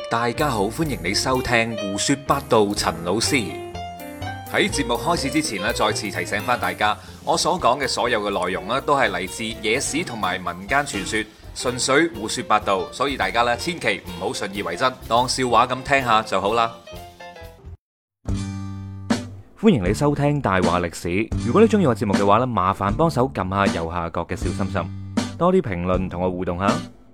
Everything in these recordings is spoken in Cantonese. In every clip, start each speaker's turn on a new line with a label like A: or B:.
A: 大家好，歡迎你收聽胡說八道。陳老師喺節目開始之前咧，再次提醒翻大家，我所講嘅所有嘅內容咧，都係嚟自野史同埋民間傳說，純粹胡說八道，所以大家咧千祈唔好信以為真，當笑話咁聽下就好啦。
B: 歡迎你收聽大話歷史。如果你中意我節目嘅話咧，麻煩幫手撳下右下角嘅小心心，多啲評論同我互動下。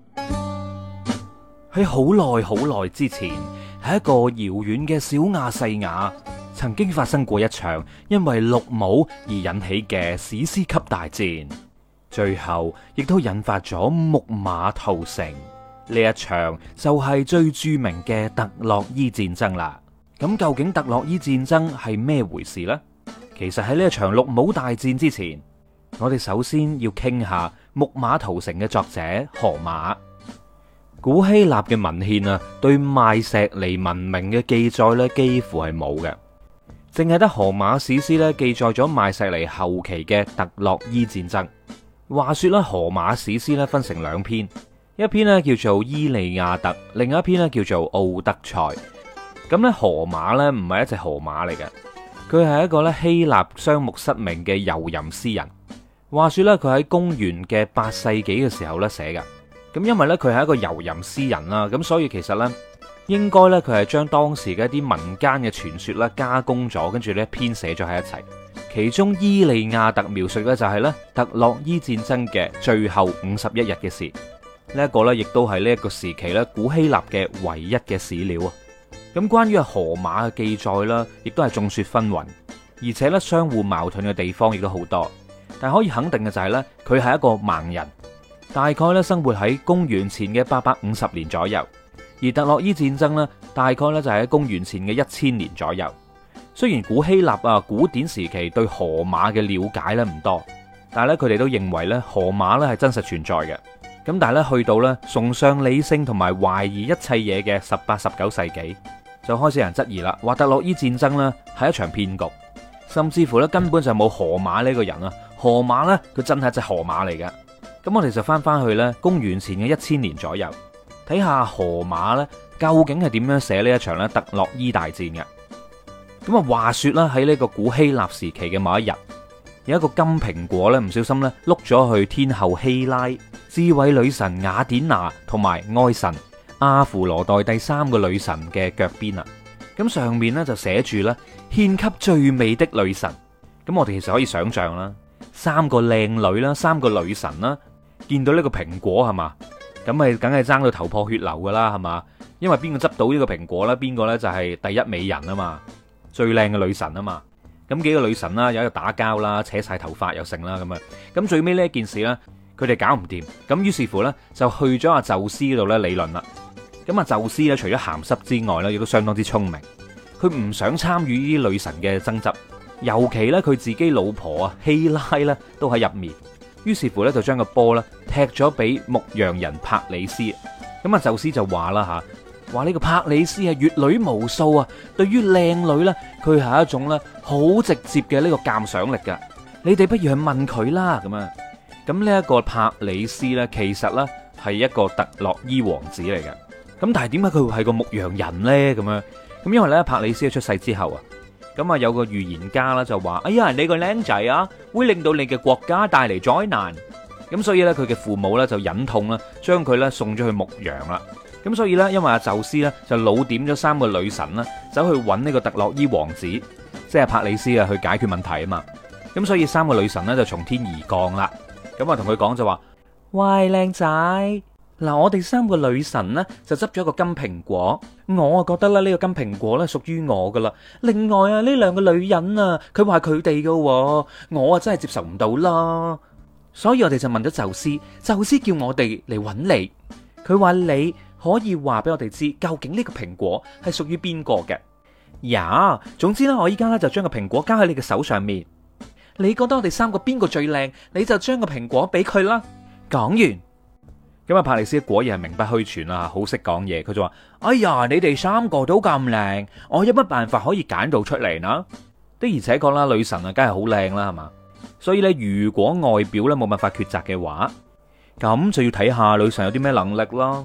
B: 喺好耐好耐之前，喺一個遙遠嘅小亞細亞，曾經發生過一場因為綠帽而引起嘅史詩級大戰，最後亦都引發咗木馬屠城。呢一場就係最著名嘅特洛伊戰爭啦。咁究竟特洛伊戰爭係咩回事呢？其實喺呢一場綠帽大戰之前，我哋首先要傾下木馬屠城嘅作者荷馬。古希臘嘅文獻啊，對邁錫尼文明嘅記載咧，幾乎係冇嘅，淨係得荷馬史詩咧記載咗邁錫尼後期嘅特洛伊戰爭。話說咧，荷馬史詩咧分成兩篇，一篇咧叫做《伊利亞特》，另一篇咧叫做《奧德賽》。咁咧，荷馬咧唔係一隻河馬嚟嘅，佢係一個咧希臘雙目失明嘅遊吟詩人。話說咧，佢喺公元嘅8世紀嘅時候咧寫嘅。咁因為咧佢係一個遊吟詩人啦，咁所以其實咧應該咧佢係將當時嘅一啲民間嘅傳說咧加工咗，跟住咧編寫咗喺一齊。其中《伊利亞特》描述嘅就係咧特洛伊戰爭嘅最後51日嘅事。呢一個咧亦都係呢一個時期咧古希臘嘅唯一嘅史料啊。咁關於荷馬嘅記載啦，亦都係眾說紛紜，而且咧相互矛盾嘅地方亦都好多。但係可以肯定嘅就係咧，佢係一個盲人。大概咧生活喺公元前嘅850年左右，而特洛伊戰爭呢，大概咧就係喺公元前嘅1000年左右。雖然古希臘啊古典時期對荷馬嘅了解咧唔多，但係咧佢哋都認為咧荷馬咧係真實存在嘅。咁但係咧去到咧崇尚理性同埋懷疑一切嘢嘅18、19世紀，就開始有人質疑啦，話特洛伊戰爭呢係一場騙局，甚至乎咧根本就冇荷馬呢個人啊。荷馬呢，佢真係一隻河馬嚟嘅。咁我哋就翻去咧公元前嘅1000年左右，睇下荷馬咧究竟係點樣寫呢一場咧特洛伊大戰嘅。咁啊，話說啦，喺呢個古希臘時期嘅某一日，有一個金蘋果咧唔小心咧碌咗去天后希拉、智慧女神雅典娜同埋愛神阿芙羅代第3個女神嘅腳邊啊。咁上面咧就寫住咧獻給最美的女神。咁我哋其實可以想象啦，3個靚女啦，3個女神啦，見到呢個蘋果係嘛，咁咪梗係爭到頭破血流噶啦，係嘛？因為邊個執到呢個蘋果咧，邊個咧就係第一美人啊嘛，最靚嘅女神啊嘛。咁幾個女神啦，有喺度打交啦，扯晒頭髮又成啦咁啊。咁最尾呢一件事咧，佢哋搞唔掂，咁於是乎咧就去咗阿宙斯嗰度咧理論啦。咁啊，宙斯咧除咗鹹濕之外咧，亦都相當之聰明，佢唔想參與呢啲女神嘅爭執，尤其咧佢自己老婆啊希拉咧都喺入面。於是乎咧，就將個波咧踢咗俾牧羊人帕里斯。咁啊，宙斯就話啦吓，話呢個帕里斯係閱女無數啊，對於靚女咧，佢係一種咧好直接嘅呢個鑑賞力噶。你哋不如去問佢啦，咁啊。咁呢一個帕里斯咧，其實咧係一個特洛伊王子嚟嘅。咁但係點解佢會係個牧羊人咧？咁樣咁因為咧帕里斯出世之後啊。咁啊，有個預言家啦，就話：哎呀，你個僆仔啊，會令到你嘅國家帶嚟災難。咁所以咧，佢嘅父母咧就忍痛啦，將佢咧送咗去牧羊啦。咁所以咧，因為阿宙斯咧就老點咗3個女神啦，走去揾呢個特洛伊王子，即係帕里斯啊，去解決問題啊嘛。咁所以3個女神咧就從天而降啦。咁啊，同佢講就話：喂，靚仔。嗱，我哋3個女神呢，就執咗個金蘋果，我啊覺得咧呢個金蘋果咧屬於我噶啦。另外啊，呢2個女人啊，佢話佢哋噶，我啊真係接受唔到啦。所以我哋就問咗宙斯，宙斯叫我哋嚟揾你，佢話你可以話俾我哋知，究竟呢個蘋果係屬於邊個嘅。呀，總之咧，我依家咧就將個蘋果交喺你嘅手上面，你覺得我哋3個邊個最靚，你就將個蘋果俾佢啦。講完。咁啊，帕里斯果然係名不虛傳啊，好識講嘢。佢就話：哎呀，你哋3個都咁靚，我有乜辦法可以揀到出嚟呢？的而且確啦，女神啊，梗係好靚啦，係嘛？所以咧，如果外表咧冇辦法抉擇嘅話，咁就要睇下女神有啲咩能力啦。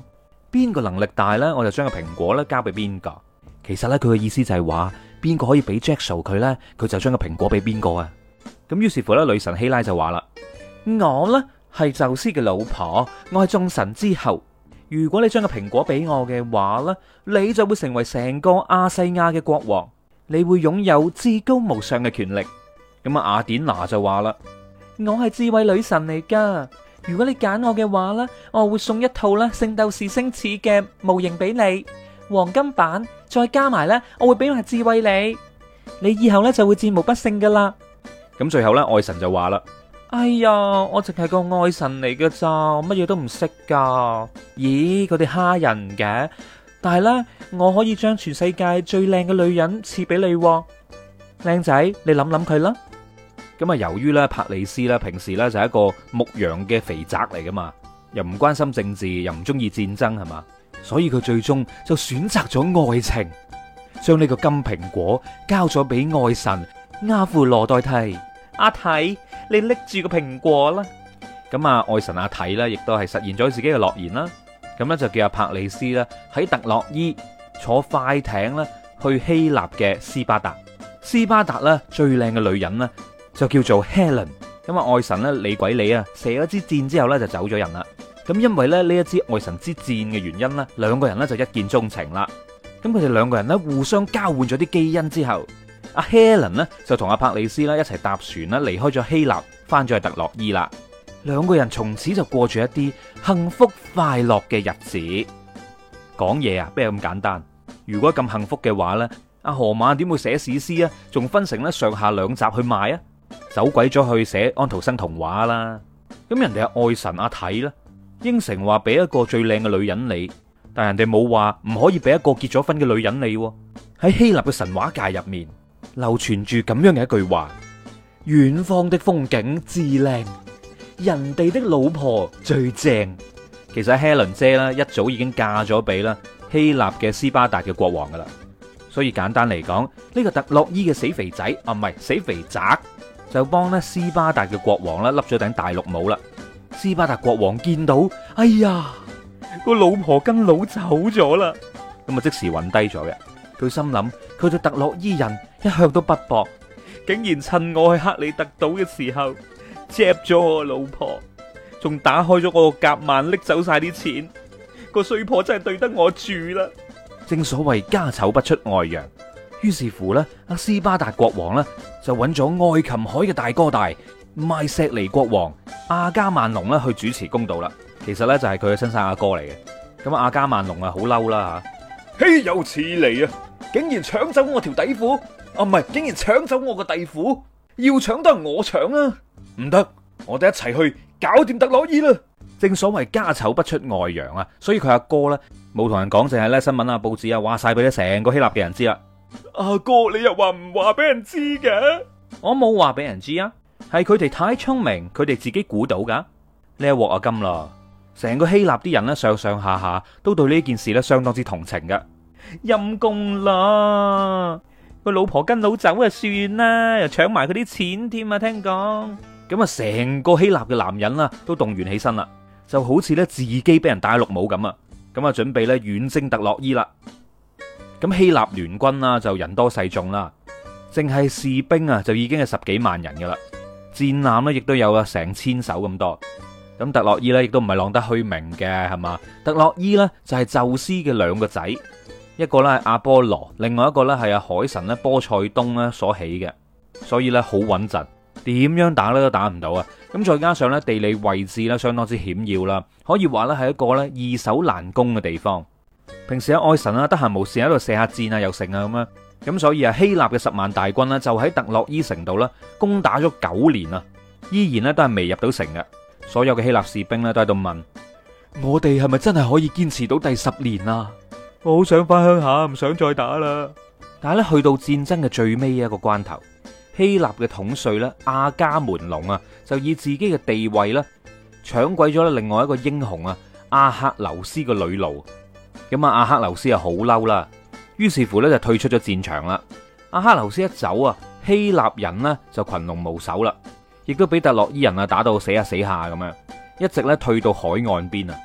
B: 邊個能力大呢，我就將個蘋果咧交俾邊個。其實呢，佢嘅意思就係話，邊個可以俾 Jackal 佢呢，佢就將個蘋果俾邊個啊。咁於是乎咧，女神希拉就話啦：我呢係宙斯嘅老婆，我係眾神之後。如果你將個蘋果俾我嘅話呢，你就會成為成個亞細亞嘅國王，你會擁有至高無上嘅權力。咁雅典娜就話啦：我係智慧女神嚟噶，如果你揀我嘅話呢，我會送一套咧聖鬥士星矢嘅模型俾你，黃金版，再加埋呢，我會俾埋智慧你，你以後呢就會戰無不勝噶啦。咁最後呢，愛神就話啦：哎呀，我淨係個愛神嚟噶咋，我乜嘢都唔識噶。咦，佢哋蝦人嘅，但係呢，我可以將全世界最靚嘅女人賜俾你，靚仔，你諗諗佢啦。咁啊，由於咧柏利斯咧平時咧就係一個牧羊嘅肥宅嚟噶嘛，又唔關心政治，又唔中意戰爭係嘛，所以佢最終就選擇咗愛情，將呢個金蘋果交咗俾愛神阿芙羅代替。阿提，你拎住個蘋果啦。咁啊，愛神阿提咧，亦都係實現咗自己嘅諾言啦。咁咧就叫阿柏利斯咧喺特洛伊坐快艇咧去希臘嘅斯巴達。斯巴達咧最靚嘅女人咧就叫做 Helen。咁啊，愛神咧理鬼理啊，射咗支箭之後咧就走咗人啦。咁因為咧呢一支愛神之箭嘅原因咧，兩個人咧就一見鍾情啦。咁佢哋兩個人咧互相交換咗啲基因之後，阿 Helen 呢就同阿柏利斯啦一齊搭船啦，離開咗希臘，翻咗去特洛伊啦。兩個人從此就過住一啲幸福快樂嘅日子。講嘢啊，邊有咁簡單？如果咁幸福嘅話呢，阿荷馬點會寫史詩啊？仲分成咧上下兩集去賣啊？走鬼咗去寫安徒生童話啦。咁人哋係愛神阿體啦，應承話俾一個最靚嘅女人你，但人哋冇話唔可以俾一個結咗婚嘅女人你。喺希臘嘅神話界入面，流傳住咁樣嘅一句話：遠方的風景至靚，人哋的老婆最正。其實 Helen 姐啦，一早已經嫁咗俾啦希臘嘅斯巴達嘅國王噶啦。所以簡單嚟講，呢個特洛伊嘅死肥仔啊，唔係死肥宅，就幫咧斯巴達嘅國王啦笠咗頂大綠帽啦。斯巴達國王見到，哎呀，個老婆跟佬走咗啦，咁啊即時暈低咗嘅。佢心諗，佢對特洛伊人一向都不薄，竟然趁我去克里特島嘅時候，接咗我老婆，仲打開咗我個夾萬，拎走晒啲錢。個衰婆真係對得我住啦。正所謂家醜不出外揚，於是乎呢，阿斯巴達國王呢，就揾咗愛琴海嘅大哥大邁錫尼國王阿加曼龍啦去主持公道啦。其實呢，就係佢嘅親生阿哥嚟嘅。咁阿加曼龍啊好嬲啦吓，豈有此理啊！竟然搶走我條底褲，啊唔係，竟然搶走我個地褲，要搶都係我搶啊！唔得，我哋一齊去搞掂特洛伊啦！正所謂家醜不出外揚啊，所以佢阿哥呢，冇同人講，淨係咧新聞啊報紙啊話晒俾咧成個希臘嘅人知啦。阿哥你又話唔話俾人知嘅？我冇話俾人知啊，係佢哋太聰明，佢哋自己估到噶。呢一鑊啊金啦，成個希臘啲人呢，上上下下都對呢件事呢相當之同情噶。陰公啦，個老婆跟佬走啊算啦，又搶埋佢啲錢添啊！聽講咁啊，成個希臘嘅男人啦都動員起身啦，就好似咧自己俾人戴綠帽咁啊！咁啊，準備咧遠征特洛伊啦。咁希臘聯軍啦就人多勢眾啦，淨係士兵啊就已經係十幾萬人噶啦，戰艦咧亦都有啊成千艘咁多。咁特洛伊咧亦都唔係浪得虛名嘅係嘛？特洛伊咧就係宙斯嘅兩個仔。一個咧係阿波羅，另外一個咧係阿海神咧波塞冬咧所起嘅，所以咧好穩陣，點樣打咧都打唔到啊！咁再加上咧地理位置咧相當之險要啦，可以話咧係一個咧易守難攻嘅地方。平時阿愛神啊得閒無事喺度射下箭啊又成啊咁樣，咁所以啊希臘嘅10萬大軍呢，就喺特洛伊城度啦攻打咗9年啊，依然咧都係未入到城嘅。所有嘅希臘士兵咧都喺度問：我哋係咪真係可以堅持到第10年啊？我好想翻鄉下，唔想再打啦。但係咧，去到戰爭嘅最尾一個關頭，希臘嘅統帥咧阿伽門龍啊，就以自己嘅地位咧搶鬼咗另外一個英雄啊阿克琉斯個女奴。咁啊，阿克琉斯啊好嬲啦，於是乎咧就退出咗戰場啦。阿克琉斯一走啊，希臘人呢就群龍無首啦，亦都俾特洛伊人啊打到死下死下咁樣，一直咧退到海岸邊啊。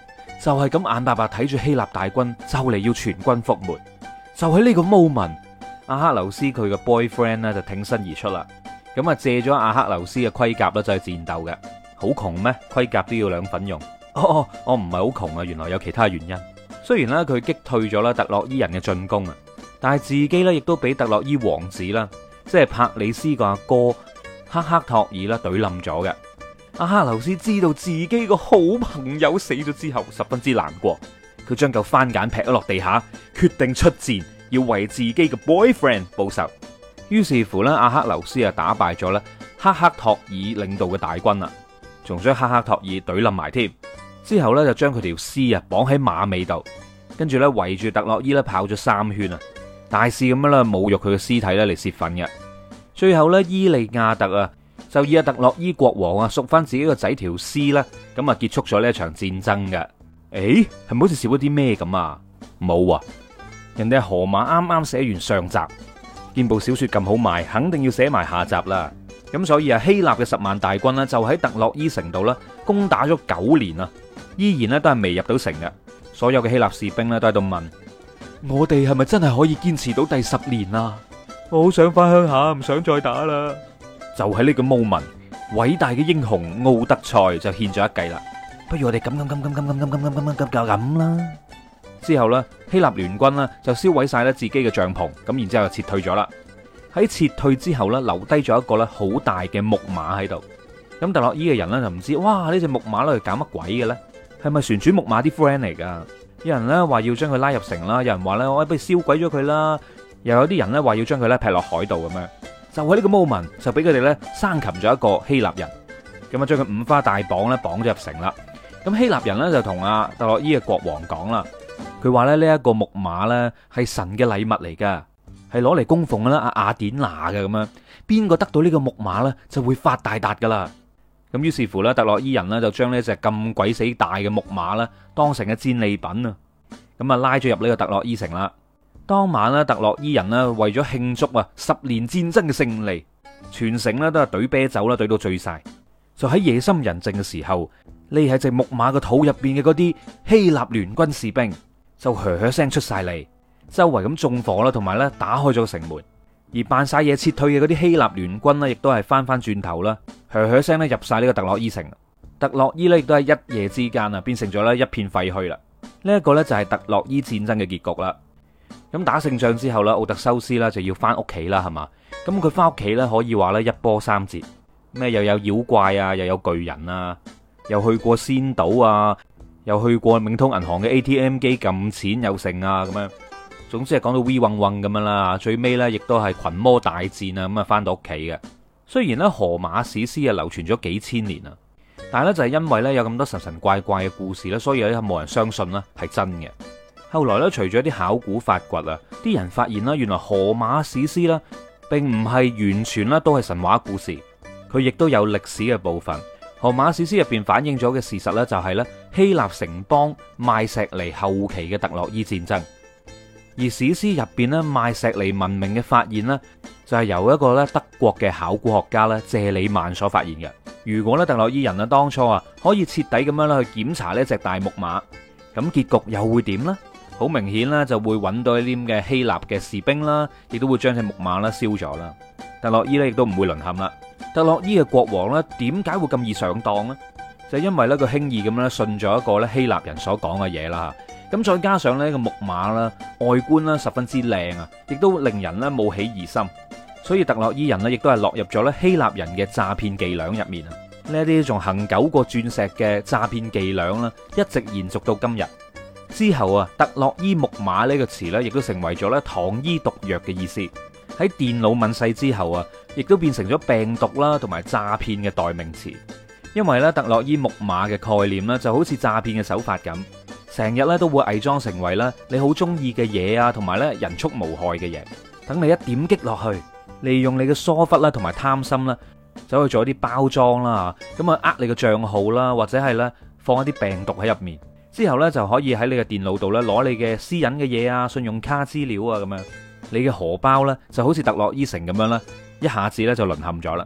B: 就係咁眼白白睇住希臘大軍就嚟要全軍覆沒。就喺呢個 moment，阿克琉斯佢嘅 boyfriend 咧就挺身而出啦。咁啊借咗阿克琉斯嘅盔甲咧就去戰鬥嘅。好窮咩？盔甲都要兩份用。我唔係好窮啊，原來有其他原因。雖然咧佢擊退咗啦特洛伊人嘅進攻啊，但係自己咧亦都俾特洛伊王子啦，即係帕里斯個阿哥赫克托爾啦懟冧咗嘅。阿克琉斯知道自己個好朋友死咗之後，十分之難過。佢將嚿番梘劈咗落地下，決定出戰，要為自己嘅 boyfriend 報仇。於是乎咧，阿克琉斯啊打敗咗咧赫克托爾領導嘅大軍啦，仲將赫克托爾懟冧埋添。之後咧就將佢條屍啊綁喺馬尾度，跟住咧圍住特洛伊咧跑咗3圈啊，大肆咁樣咧侮辱佢嘅屍體咧嚟泄憤嘅。最後咧伊利亞特啊就以阿特洛伊國王啊贖翻自己個仔條屍啦，咁啊結束咗呢一場戰爭嘅。誒，係咪好似少咗啲咩咁啊？冇啊，人哋係河馬啱啱寫完上集，見部小說咁好賣，肯定要寫埋下集啦。咁所以啊，希臘嘅10萬大軍呢，就喺特洛伊城度啦，攻打咗9年啊，依然咧都係未入到城嘅。所有嘅希臘士兵咧都喺度問：我哋係咪真係可以堅持到第10年啊？我好想翻鄉下，唔想再打啦。就喺呢個 moment，偉大嘅英雄奧德賽就獻咗一計啦。不如我哋咁啦。之後呢，希臘聯軍呢就燒毀晒咧自己嘅帳篷，咁然之後就撤退咗啦。喺撤退之後呢，留低咗一個咧好大嘅木馬喺度。咁特洛伊嘅人呢，就唔知，哇，呢隻木馬咧搞乜鬼嘅咧？係咪旋轉木馬啲 friend 嚟噶？有人呢話要將佢拉入城啦，有人話咧我不如燒鬼咗佢啦，又有啲人呢話要將佢咧劈落海度咁樣。就喺呢個 moment 就俾佢哋咧生擒咗一個希臘人，咁啊將佢五花大綁咧綁咗入城啦。咁希臘人咧就同阿特洛伊嘅國王講啦，佢話咧呢一個木馬咧係神嘅禮物嚟噶，係攞嚟供奉啦阿雅典娜嘅咁樣，邊個得到呢個木馬咧就會發大達噶啦。咁於是乎咧，特洛伊人咧就將呢隻咁鬼死大嘅木馬咧當成嘅戰利品啊，咁啊拉咗入呢個特洛伊城啦。當晚咧，特洛伊人咧為咗慶祝啊10年戰爭嘅勝利，全城咧都係懟啤酒啦，懟到醉晒。就喺夜深人靜嘅時候，匿喺隻木馬個肚入邊嘅嗰啲希臘聯軍士兵就噓噓聲出晒嚟，周圍咁縱火啦，同埋咧打開咗城門。而扮晒嘢撤退嘅嗰啲希臘聯軍呢，亦都係翻翻轉頭啦，噓噓聲咧入晒呢個特洛伊城。特洛伊呢，亦都係一夜之間啊變成咗咧一片廢墟啦。呢一個呢，就係特洛伊戰爭嘅結局啦。咁打勝仗之後咧，奧特修斯啦就要翻屋企啦，係嘛？咁佢翻屋企咧可以話咧一波三折，咩又有妖怪啊，又有巨人啊，又去過仙島啊，又去過冥通銀行嘅 ATM 機撳錢又剩啊咁樣。總之係講到 V 嗡嗡咁樣啦，最尾咧亦都係群魔大戰啊咁啊翻到屋企嘅。雖然咧荷馬史詩啊流傳咗幾千年啊，但係咧就係因為咧有咁多神神怪怪嘅故事咧，所以咧冇人相信啦係真嘅。後來咧，隨住一啲考古發掘啊，啲人發現啦，原來荷馬史詩啦，並唔係完全啦都係神話故事，佢亦都有歷史嘅部分。荷馬史詩入邊反映咗嘅事實咧，就係咧希臘城邦邁錫尼後期嘅特洛伊戰爭。而史詩入邊咧邁錫尼文明嘅發現咧，就係由一個咧德國嘅考古學家咧謝里曼所發現嘅。如果咧特洛伊人啊當初啊可以徹底咁樣咧去檢查呢隻大木馬，咁結局又會點呢？好明顯啦，就會揾到一啲嘅希臘嘅士兵啦，亦都會將隻木馬啦燒咗啦。特洛伊咧亦都唔會淪陷啦。特洛伊嘅國王咧點解會咁易上當呢？就因為咧佢輕易咁樣信咗一個咧希臘人所講嘅嘢啦。咁再加上呢個木馬啦外觀啦十分之靚啊，亦都令人咧冒起疑心，所以特洛伊人咧亦都係落入咗咧希臘人嘅詐騙伎倆入面啊。呢啲仲恆久過鑽石嘅詐騙伎倆啦，一直延續到今日。之後啊，特洛伊木馬呢個詞呢，亦都成為咗咧糖衣毒藥嘅意思。喺電腦問世之後啊，亦都變成咗病毒啦，同埋詐騙嘅代名詞。因為咧特洛伊木馬嘅概念呢，就好似詐騙嘅手法咁，成日咧都會偽裝成為咧你好中意嘅嘢啊，同埋咧人畜無害嘅嘢。等你一點擊落去，利用你嘅疏忽啦，同埋貪心啦，走去做一啲包裝啦，咁啊呃你嘅賬號啦，或者係咧放一啲病毒喺入面。之後咧就可以喺你嘅電腦度咧攞你嘅私隱嘅嘢啊、信用卡資料啊咁樣，你嘅荷包咧就好似特洛伊城咁樣啦，一下子咧就淪陷咗啦。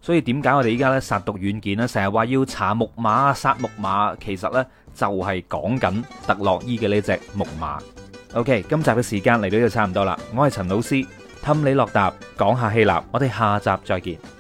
B: 所以點解我哋依家咧殺毒軟件咧成日話要查木馬、殺木馬，其實呢就係講緊特洛伊嘅呢隻木馬。OK， 今集嘅時間嚟到呢度差唔多啦，我係陳老師，氹你落答講下希臘，我哋下集再見。